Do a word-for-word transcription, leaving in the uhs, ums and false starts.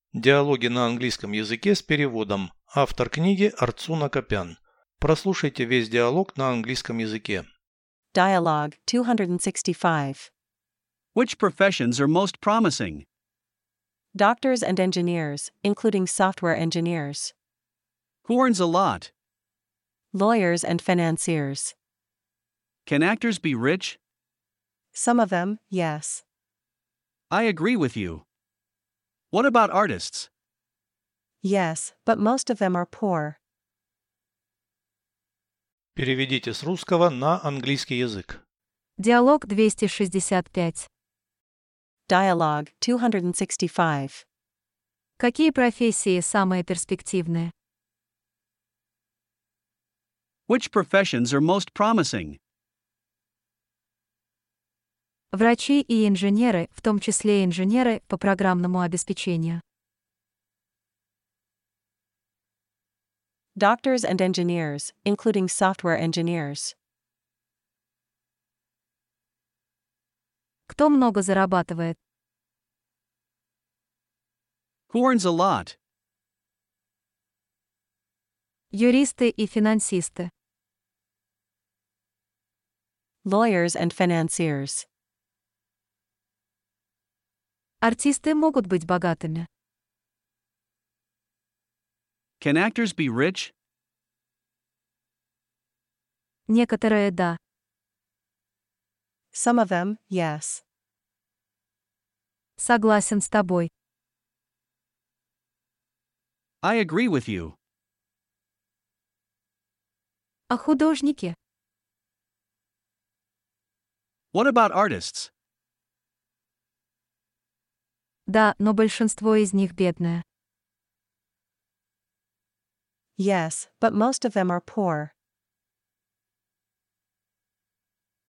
Диалоги на английском языке с переводом. Автор книги Арцуна Копян. Прослушайте весь диалог на английском языке. Dialogue two sixty-five. Which professions are most promising? Doctors and engineers, including software engineers. Who earns a lot? Lawyers and financiers. Can actors be rich? Some of them, yes. I agree with you. What about artists? Yes, but most of them are poor. Переведите с русского на английский язык. Диалог двести шестьдесят пять. Dialogue two sixty-five. Какие профессии самые перспективные? Which professions are most promising? Врачи и инженеры, в том числе инженеры по программному обеспечению. Doctors and engineers, including software engineers. Кто много зарабатывает? Who earns a lot? Юристы и финансисты. Lawyers and financiers. Артисты могут быть богатыми. Can actors be rich? Некоторые да. Some of them, yes. Согласен с тобой. I agree with you. А художники? What about artists? Да, но большинство из них бедное. Yes, but most of them are poor.